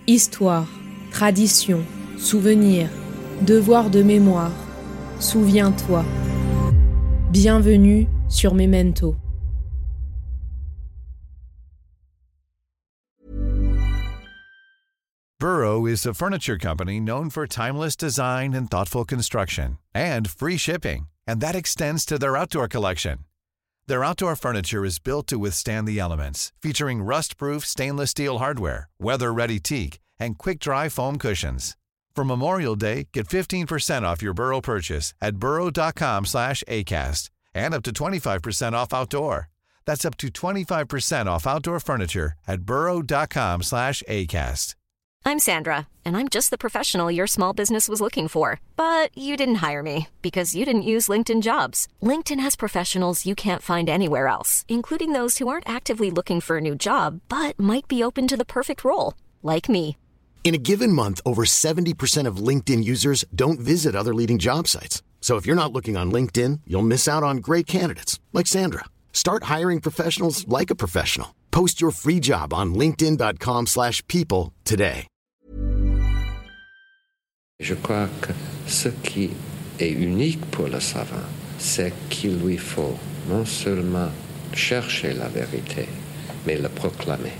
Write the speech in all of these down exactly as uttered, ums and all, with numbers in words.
Histoire, tradition, souvenir, devoir de mémoire, souviens-toi. Bienvenue sur Memento. Burrow is a furniture company known for timeless design and thoughtful construction, and free shipping, and that extends to their outdoor collection. Their outdoor furniture is built to withstand the elements, featuring rust-proof stainless steel hardware, weather-ready teak, and quick-dry foam cushions. For Memorial Day, get fifteen percent off your Burrow purchase at burrow.com slash ACAST and up to twenty-five percent off outdoor. That's up to twenty-five percent off outdoor furniture at burrow.com slash ACAST. I'm Sandra, and I'm just the professional your small business was looking for. But you didn't hire me because you didn't use LinkedIn Jobs. LinkedIn has professionals you can't find anywhere else, including those who aren't actively looking for a new job, but might be open to the perfect role, like me. In a given month, over seventy percent of LinkedIn users don't visit other leading job sites. So if you're not looking on LinkedIn, you'll miss out on great candidates like Sandra. Start hiring professionals like a professional. Post your free job on linkedin.com slash people today. Je crois que ce qui est unique pour le savant, c'est qu'il lui faut non seulement chercher la vérité, mais la proclamer.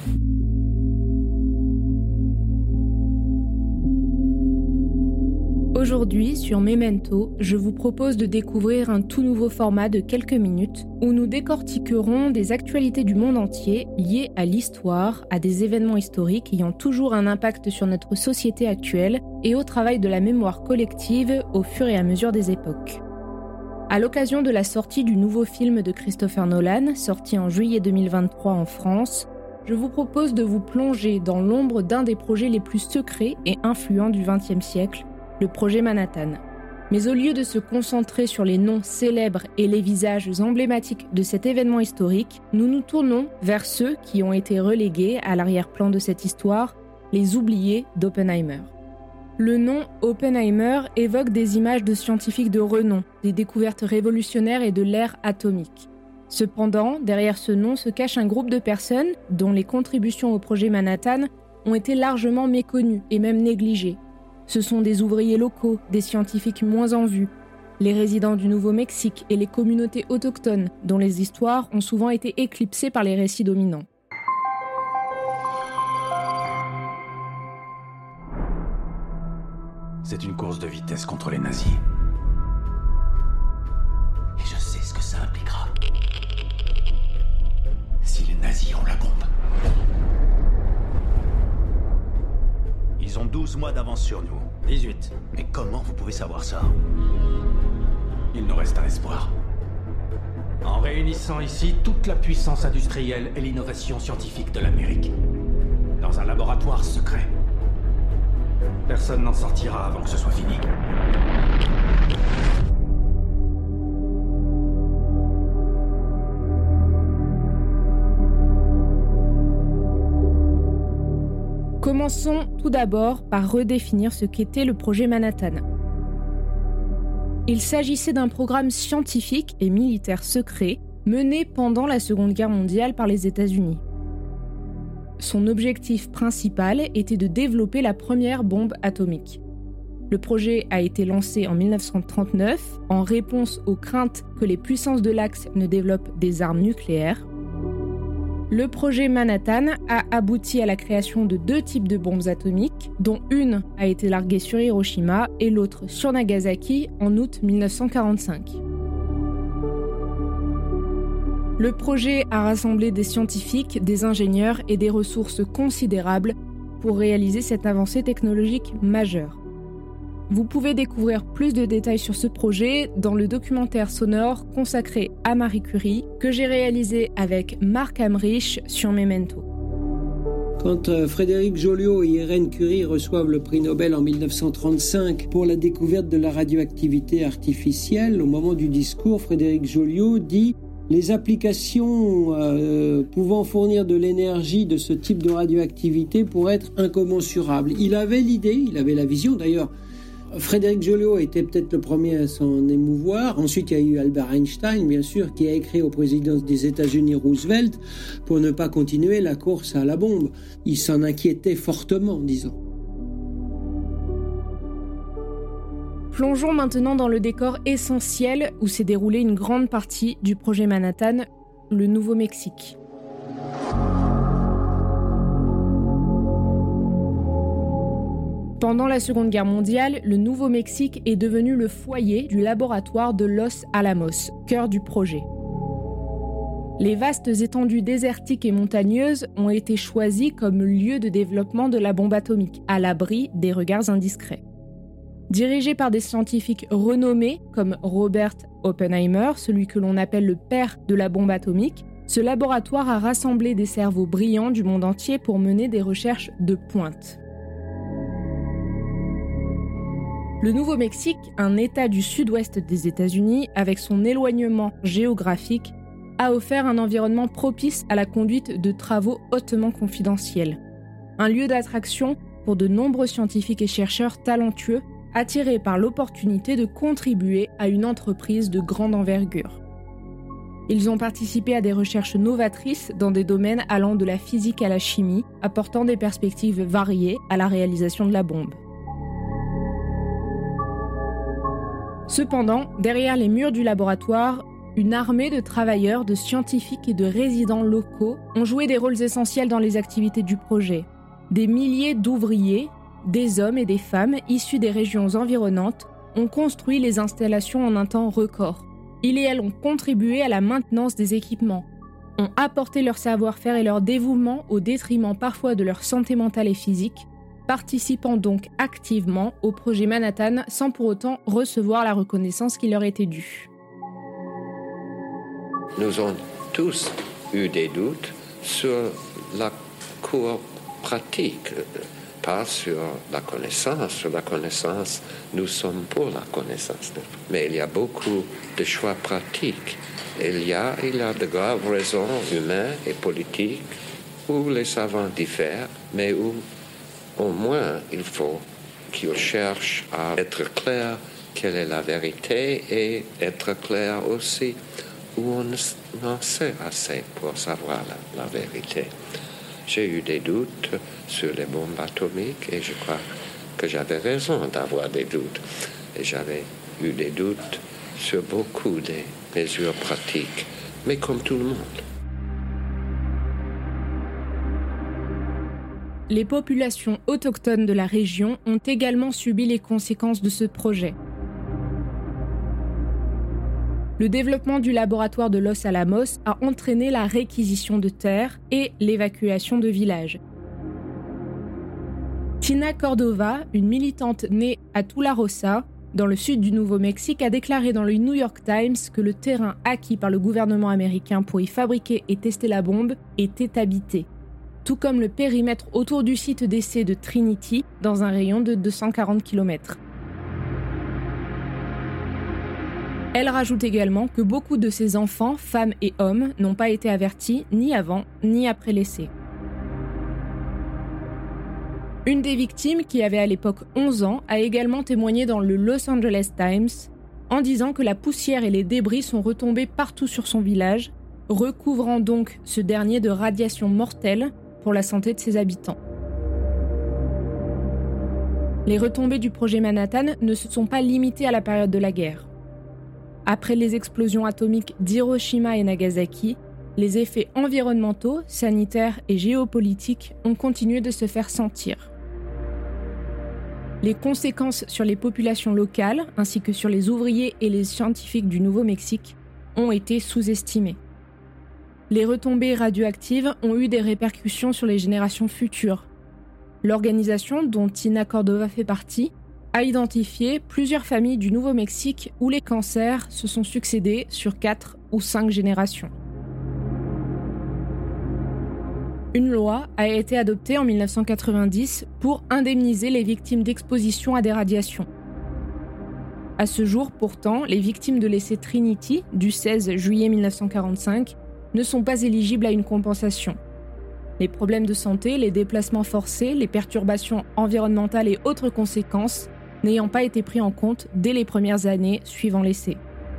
Aujourd'hui, sur Memento, je vous propose de découvrir un tout nouveau format de quelques minutes où nous décortiquerons des actualités du monde entier liées à l'histoire, à des événements historiques ayant toujours un impact sur notre société actuelle et au travail de la mémoire collective au fur et à mesure des époques. À l'occasion de la sortie du nouveau film de Christopher Nolan, sorti en juillet deux mille vingt-trois en France, je vous propose de vous plonger dans l'ombre d'un des projets les plus secrets et influents du vingtième siècle, le projet Manhattan. Mais au lieu de se concentrer sur les noms célèbres et les visages emblématiques de cet événement historique, nous nous tournons vers ceux qui ont été relégués à l'arrière-plan de cette histoire, les oubliés d'Oppenheimer. Le nom Oppenheimer évoque des images de scientifiques de renom, des découvertes révolutionnaires et de l'ère atomique. Cependant, derrière ce nom se cache un groupe de personnes dont les contributions au projet Manhattan ont été largement méconnues et même négligées. Ce sont des ouvriers locaux, des scientifiques moins en vue, les résidents du Nouveau-Mexique et les communautés autochtones, dont les histoires ont souvent été éclipsées par les récits dominants. C'est une course de vitesse contre les nazis. Et je sais ce que ça impliquera. Si les nazis ont la bombe. Ils ont douze mois d'avance sur nous. dix-huit. Mais comment vous pouvez savoir ça? Il nous reste un espoir. En réunissant ici toute la puissance industrielle et l'innovation scientifique de l'Amérique. Dans un laboratoire secret. Personne n'en sortira avant que ce soit fini. Commençons tout d'abord par redéfinir ce qu'était le projet Manhattan. Il s'agissait d'un programme scientifique et militaire secret mené pendant la Seconde Guerre mondiale par les États-Unis. Son objectif principal était de développer la première bombe atomique. Le projet a été lancé en dix-neuf cent trente-neuf en réponse aux craintes que les puissances de l'Axe ne développent des armes nucléaires. Le projet Manhattan a abouti à la création de deux types de bombes atomiques, dont une a été larguée sur Hiroshima et l'autre sur Nagasaki en août dix-neuf cent quarante-cinq. Le projet a rassemblé des scientifiques, des ingénieurs et des ressources considérables pour réaliser cette avancée technologique majeure. Vous pouvez découvrir plus de détails sur ce projet dans le documentaire sonore consacré à Marie Curie que j'ai réalisé avec Marc Hamrich sur Memento. Quand euh, Frédéric Joliot et Irène Curie reçoivent le prix Nobel en dix-neuf cent trente-cinq pour la découverte de la radioactivité artificielle, au moment du discours, Frédéric Joliot dit « Les applications euh, pouvant fournir de l'énergie de ce type de radioactivité pourraient être incommensurables ». Il avait l'idée, il avait la vision d'ailleurs, Frédéric Joliot était peut-être le premier à s'en émouvoir. Ensuite, il y a eu Albert Einstein, bien sûr, qui a écrit au président des États-Unis Roosevelt pour ne pas continuer la course à la bombe. Il s'en inquiétait fortement, disons. Plongeons maintenant dans le décor essentiel où s'est déroulée une grande partie du projet Manhattan, le Nouveau-Mexique. Pendant la Seconde Guerre mondiale, le Nouveau-Mexique est devenu le foyer du laboratoire de Los Alamos, cœur du projet. Les vastes étendues désertiques et montagneuses ont été choisies comme lieu de développement de la bombe atomique, à l'abri des regards indiscrets. Dirigé par des scientifiques renommés comme Robert Oppenheimer, celui que l'on appelle le père de la bombe atomique, ce laboratoire a rassemblé des cerveaux brillants du monde entier pour mener des recherches de pointe. Le Nouveau-Mexique, un État du sud-ouest des États-Unis, avec son éloignement géographique, a offert un environnement propice à la conduite de travaux hautement confidentiels. Un lieu d'attraction pour de nombreux scientifiques et chercheurs talentueux, attirés par l'opportunité de contribuer à une entreprise de grande envergure. Ils ont participé à des recherches novatrices dans des domaines allant de la physique à la chimie, apportant des perspectives variées à la réalisation de la bombe. Cependant, derrière les murs du laboratoire, une armée de travailleurs, de scientifiques et de résidents locaux ont joué des rôles essentiels dans les activités du projet. Des milliers d'ouvriers, des hommes et des femmes issus des régions environnantes ont construit les installations en un temps record. Ils et elles ont contribué à la maintenance des équipements, ont apporté leur savoir-faire et leur dévouement au détriment parfois de leur santé mentale et physique, participant donc activement au projet Manhattan sans pour autant recevoir la reconnaissance qui leur était due. Nous avons tous eu des doutes sur la cour pratique, pas sur la connaissance. Sur la connaissance, nous sommes pour la connaissance. Mais il y a beaucoup de choix pratiques. Il y a, il y a de graves raisons humaines et politiques où les savants diffèrent, mais où au moins, il faut qu'ils cherchent à être clairs quelle est la vérité et être clair aussi où on en sait assez pour savoir la, la vérité. J'ai eu des doutes sur les bombes atomiques et je crois que j'avais raison d'avoir des doutes. Et j'avais eu des doutes sur beaucoup des mesures pratiques, mais comme tout le monde. Les populations autochtones de la région ont également subi les conséquences de ce projet. Le développement du laboratoire de Los Alamos a entraîné la réquisition de terres et l'évacuation de villages. Tina Cordova, une militante née à Tularosa, dans le sud du Nouveau-Mexique, a déclaré dans le New York Times que le terrain acquis par le gouvernement américain pour y fabriquer et tester la bombe était habité, tout comme le périmètre autour du site d'essai de Trinity, dans un rayon de deux cent quarante kilomètres. Elle rajoute également que beaucoup de ses enfants, femmes et hommes, n'ont pas été avertis ni avant ni après l'essai. Une des victimes, qui avait à l'époque onze ans, a également témoigné dans le Los Angeles Times en disant que la poussière et les débris sont retombés partout sur son village, recouvrant donc ce dernier de radiations mortelles pour la santé de ses habitants. Les retombées du projet Manhattan ne se sont pas limitées à la période de la guerre. Après les explosions atomiques d'Hiroshima et Nagasaki, les effets environnementaux, sanitaires et géopolitiques ont continué de se faire sentir. Les conséquences sur les populations locales, ainsi que sur les ouvriers et les scientifiques du Nouveau-Mexique, ont été sous-estimées. Les retombées radioactives ont eu des répercussions sur les générations futures. L'organisation, dont Tina Cordova fait partie, a identifié plusieurs familles du Nouveau-Mexique où les cancers se sont succédés sur quatre ou cinq générations. Une loi a été adoptée en dix-neuf cent quatre-vingt-dix pour indemniser les victimes d'exposition à des radiations. À ce jour, pourtant, les victimes de l'essai Trinity du seize juillet dix-neuf cent quarante-cinq ne sont pas éligibles à une compensation. Les problèmes de santé, les déplacements forcés, les perturbations environnementales et autres conséquences n'ayant pas été pris en compte dès les premières années suivant l'essai.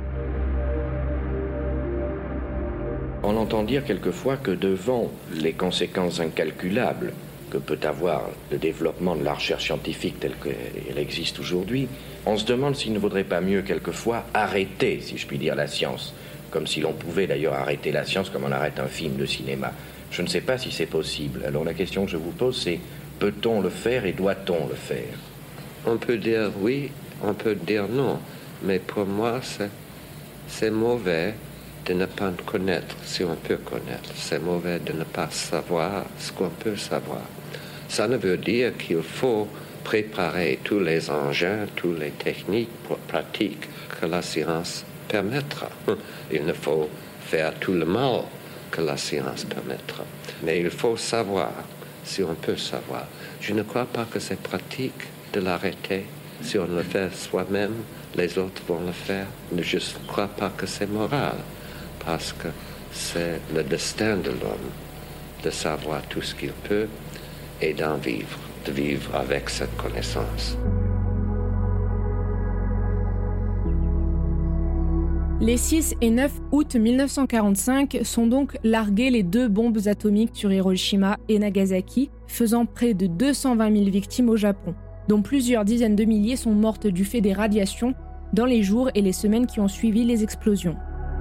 On entend dire quelquefois que devant les conséquences incalculables que peut avoir le développement de la recherche scientifique telle qu'elle existe aujourd'hui, on se demande s'il ne vaudrait pas mieux quelquefois arrêter, si je puis dire, la science, comme si l'on pouvait d'ailleurs arrêter la science comme on arrête un film de cinéma. Je ne sais pas si c'est possible. Alors la question que je vous pose, c'est peut-on le faire et doit-on le faire? On peut dire oui, on peut dire non, mais pour moi, c'est, c'est mauvais de ne pas connaître si on peut connaître. C'est mauvais de ne pas savoir ce qu'on peut savoir. Ça ne veut dire qu'il faut préparer tous les engins, toutes les techniques pratiques que la science permettra. Il ne faut faire tout le mal que la science permettra. Mais il faut savoir si on peut savoir. Je ne crois pas que c'est pratique de l'arrêter. Si on le fait soi-même, les autres vont le faire. Je ne crois pas que c'est moral. Parce que c'est le destin de l'homme de savoir tout ce qu'il peut et d'en vivre, de vivre avec cette connaissance. Les six et neuf août mille neuf cent quarante-cinq sont donc larguées les deux bombes atomiques sur Hiroshima et Nagasaki, faisant près de deux cent vingt mille victimes au Japon, dont plusieurs dizaines de milliers sont mortes du fait des radiations dans les jours et les semaines qui ont suivi les explosions.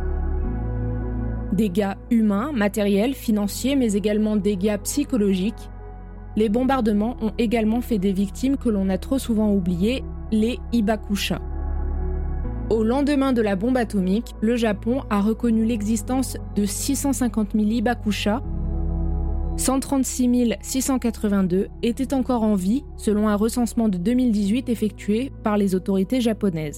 Dégâts humains, matériels, financiers, mais également dégâts psychologiques. Les bombardements ont également fait des victimes que l'on a trop souvent oubliées, les hibakusha. Au lendemain de la bombe atomique, le Japon a reconnu l'existence de six cent cinquante mille hibakusha. cent trente-six mille six cent quatre-vingt-deux étaient encore en vie, selon un recensement de deux mille dix-huit effectué par les autorités japonaises.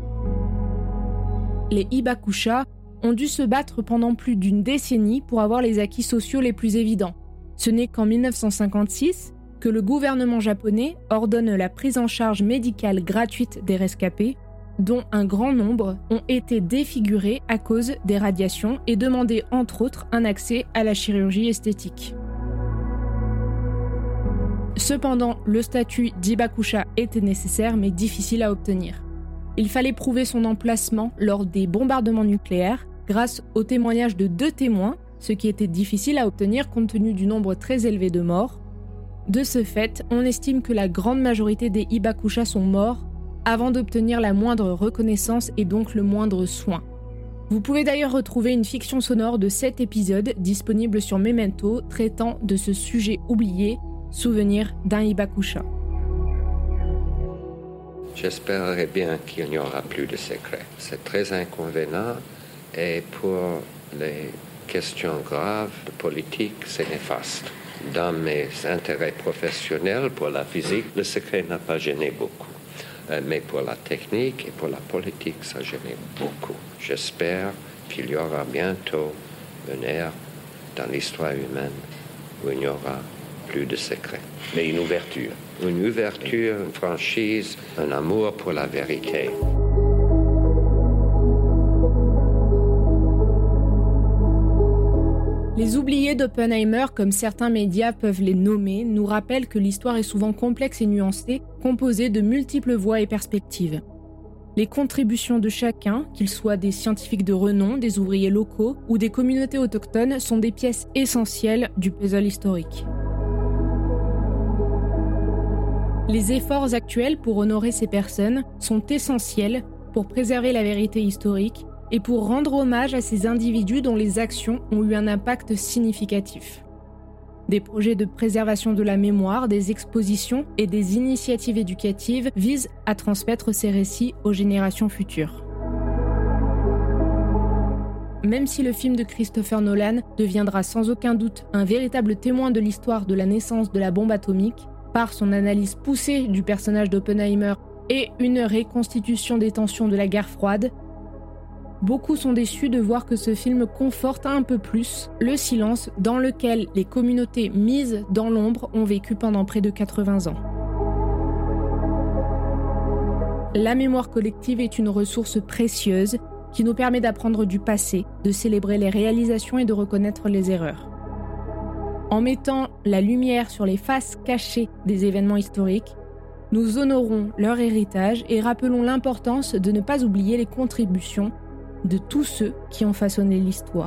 Les hibakusha ont dû se battre pendant plus d'une décennie pour avoir les acquis sociaux les plus évidents. Ce n'est qu'en mille neuf cent cinquante-six que le gouvernement japonais ordonne la prise en charge médicale gratuite des rescapés, dont un grand nombre ont été défigurés à cause des radiations et demandé entre autres un accès à la chirurgie esthétique. Cependant, le statut d'hibakusha était nécessaire mais difficile à obtenir. Il fallait prouver son emplacement lors des bombardements nucléaires grâce au témoignage de deux témoins, ce qui était difficile à obtenir compte tenu du nombre très élevé de morts. De ce fait, on estime que la grande majorité des hibakusha sont morts avant d'obtenir la moindre reconnaissance et donc le moindre soin. Vous pouvez d'ailleurs retrouver une fiction sonore de sept épisodes disponible sur Memento traitant de ce sujet oublié, souvenir d'un hibakusha. J'espérerais bien qu'il n'y aura plus de secrets. C'est très inconvénient et pour les questions graves de politique, c'est néfaste. Dans mes intérêts professionnels pour la physique, le secret n'a pas gêné beaucoup. Mais pour la technique et pour la politique, ça gênait beaucoup. J'espère qu'il y aura bientôt une ère dans l'histoire humaine où il n'y aura plus de secrets. Mais une ouverture. Une ouverture, une franchise, un amour pour la vérité. Les oubliés d'Oppenheimer, comme certains médias peuvent les nommer, nous rappellent que l'histoire est souvent complexe et nuancée, composée de multiples voix et perspectives. Les contributions de chacun, qu'ils soient des scientifiques de renom, des ouvriers locaux ou des communautés autochtones, sont des pièces essentielles du puzzle historique. Les efforts actuels pour honorer ces personnes sont essentiels pour préserver la vérité historique et pour rendre hommage à ces individus dont les actions ont eu un impact significatif. Des projets de préservation de la mémoire, des expositions et des initiatives éducatives visent à transmettre ces récits aux générations futures. Même si le film de Christopher Nolan deviendra sans aucun doute un véritable témoin de l'histoire de la naissance de la bombe atomique, par son analyse poussée du personnage d'Oppenheimer et une reconstitution des tensions de la guerre froide, beaucoup sont déçus de voir que ce film conforte un peu plus le silence dans lequel les communautés mises dans l'ombre ont vécu pendant près de quatre-vingts ans. La mémoire collective est une ressource précieuse qui nous permet d'apprendre du passé, de célébrer les réalisations et de reconnaître les erreurs. En mettant la lumière sur les faces cachées des événements historiques, Nous honorons leur héritage et rappelons l'importance de ne pas oublier les contributions de tous ceux qui ont façonné l'histoire.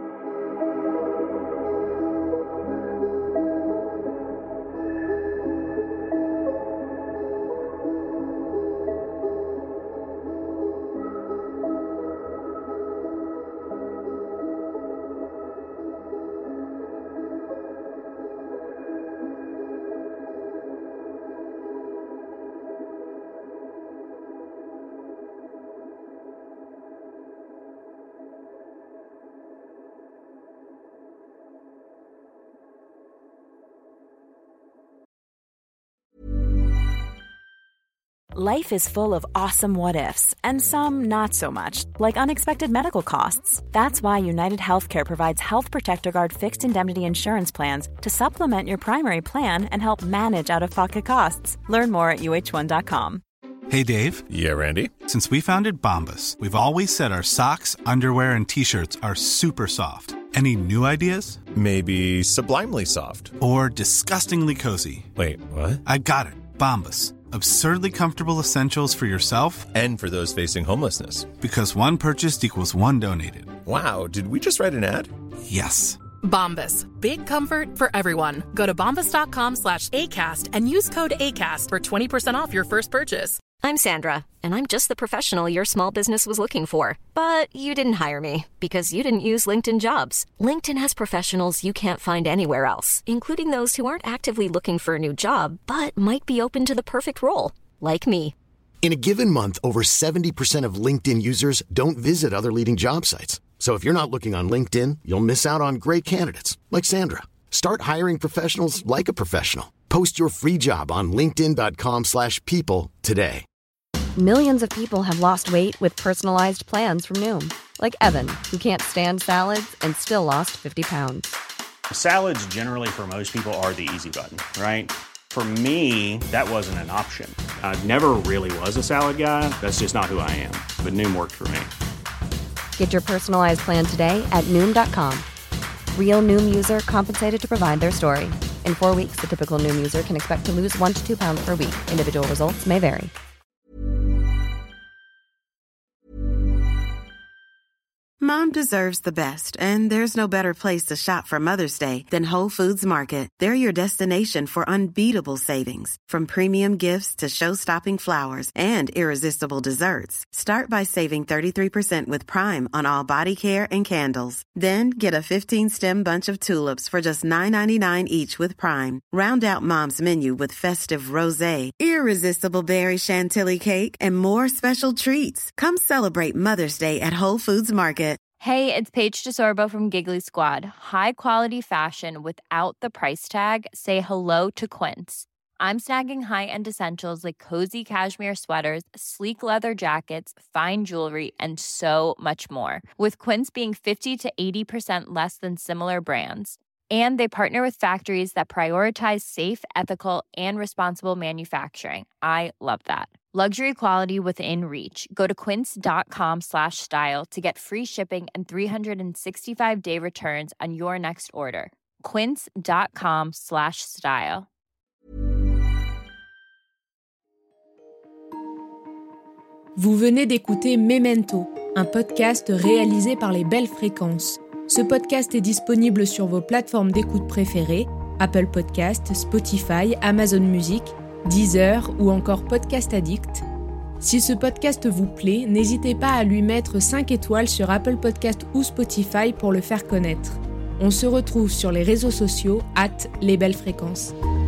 Life is full of awesome what-ifs, and some not so much, like unexpected medical costs. That's why United Healthcare provides Health Protector Guard fixed indemnity insurance plans to supplement your primary plan and help manage out-of-pocket costs. Learn more at U H one dot com. Hey, Dave. Yeah, Randy. Since we founded Bombas, we've always said our socks, underwear, and T-shirts are super soft. Any new ideas? Maybe sublimely soft. Or disgustingly cozy. Wait, what? I got it. Bombas. Absurdly comfortable essentials for yourself and for those facing homelessness. Because one purchased equals one donated. Wow, did we just write an ad? Yes. Bombas. Big comfort for everyone. Go to bombas.com slash ACAST and use code ACAST for twenty percent off your first purchase. I'm Sandra, and I'm just the professional your small business was looking for. But you didn't hire me because you didn't use LinkedIn Jobs. LinkedIn has professionals you can't find anywhere else, including those who aren't actively looking for a new job, but might be open to the perfect role, like me. In a given month, over seventy percent of LinkedIn users don't visit other leading job sites. So if you're not looking on LinkedIn, you'll miss out on great candidates, like Sandra. Start hiring professionals like a professional. Post your free job on linkedin.com slash people today. Millions of people have lost weight with personalized plans from Noom. Like Evan, who can't stand salads and still lost fifty pounds. Salads generally for most people are the easy button, right? For me, that wasn't an option. I never really was a salad guy. That's just not who I am. But Noom worked for me. Get your personalized plan today at Noom dot com. Real Noom user compensated to provide their story. In four weeks, the typical Noom user can expect to lose one to two pounds per week. Individual results may vary. Mom deserves the best, and there's no better place to shop for Mother's Day than Whole Foods Market. They're your destination for unbeatable savings, from premium gifts to show-stopping flowers and irresistible desserts. Start by saving thirty-three percent with Prime on all body care and candles. Then get a fifteen-stem bunch of tulips for just nine ninety-nine each with Prime. Round out Mom's menu with festive rosé, irresistible berry chantilly cake, and more special treats. Come celebrate Mother's Day at Whole Foods Market. Hey, it's Paige DeSorbo from Giggly Squad. High quality fashion without the price tag. Say hello to Quince. I'm snagging high-end essentials like cozy cashmere sweaters, sleek leather jackets, fine jewelry, and so much more. With Quince being fifty to eighty percent less than similar brands. And they partner with factories that prioritize safe, ethical, and responsible manufacturing. I love that. Luxury quality within reach. Go to quince.com slash style to get free shipping and three sixty-five day returns on your next order. Quince.com slash style. Vous venez d'écouter Memento, un podcast réalisé par les Belles Fréquences. Ce podcast est disponible sur vos plateformes d'écoute préférées, Apple Podcasts, Spotify, Amazon Music, Deezer ou encore Podcast Addict. Si ce podcast vous plaît, n'hésitez pas à lui mettre cinq étoiles sur Apple Podcasts ou Spotify pour le faire connaître. On se retrouve sur les réseaux sociaux arobase les belles fréquences.